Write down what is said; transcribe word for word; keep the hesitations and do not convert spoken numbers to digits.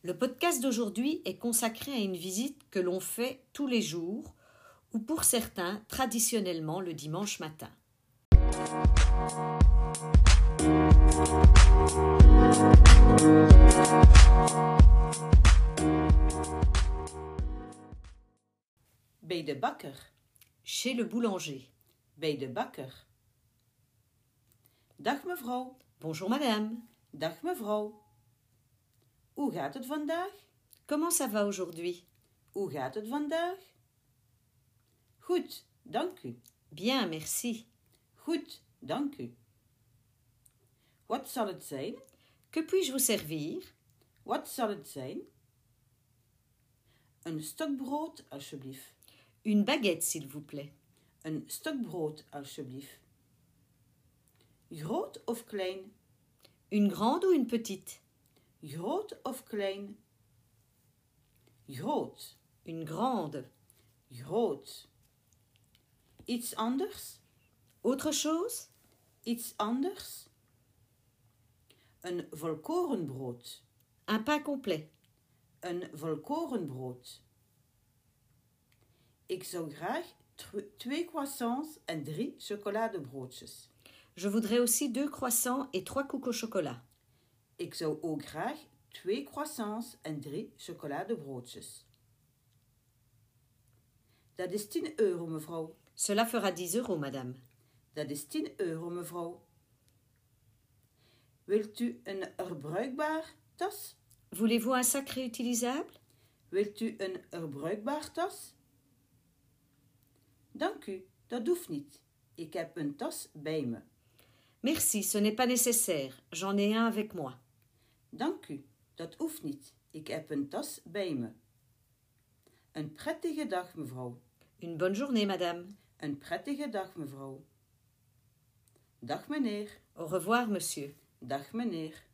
Le podcast d'aujourd'hui est consacré à une visite que l'on fait tous les jours ou pour certains traditionnellement le dimanche matin. Bij de bakker. Chez le boulanger. Bij de bakker. Dag mevrouw. Bonjour madame. Dag mevrouw. Hoe gaat het vandaag? Comment ça va aujourd'hui? Hoe gaat het vandaag? Goed, dank u. Bien, merci. Goed, dank u. Wat zal het zijn? Que puis-je vous servir? Wat zal het zijn? Een stokbrood, alsjeblieft. Une baguette, s'il vous plaît. Een stokbrood, alsjeblieft. Groot of klein? Une grande ou une petite? Groot of klein? Groot. Une grande. Groot. Iets anders? Autre chose? Iets anders? Een volkorenbrood. Un pain complet. Een volkorenbrood. Ik zou graag tw- twee croissants en drie chocoladebroodjes. Je voudrais aussi deux croissants et trois coups au chocolat. Ik zou ook graag twee croissants en drie chocoladebroodjes. Dat is tien euro, mevrouw. Cela fera dix euros, madame. Dat is tien euro, mevrouw. Wilt u een herbruikbaar tas? Voulez-vous un sac réutilisable? Wilt u een herbruikbaar tas? Dank u, dat hoeft niet. Ik heb een tas bij me. Merci, ce n'est pas nécessaire. J'en ai un avec moi. Dank u, dat hoeft niet. Ik heb een tas bij me. Een prettige dag, mevrouw. Une bonne journée, madame. Een prettige dag, mevrouw. Dag, meneer. Au revoir, monsieur. Dag, meneer.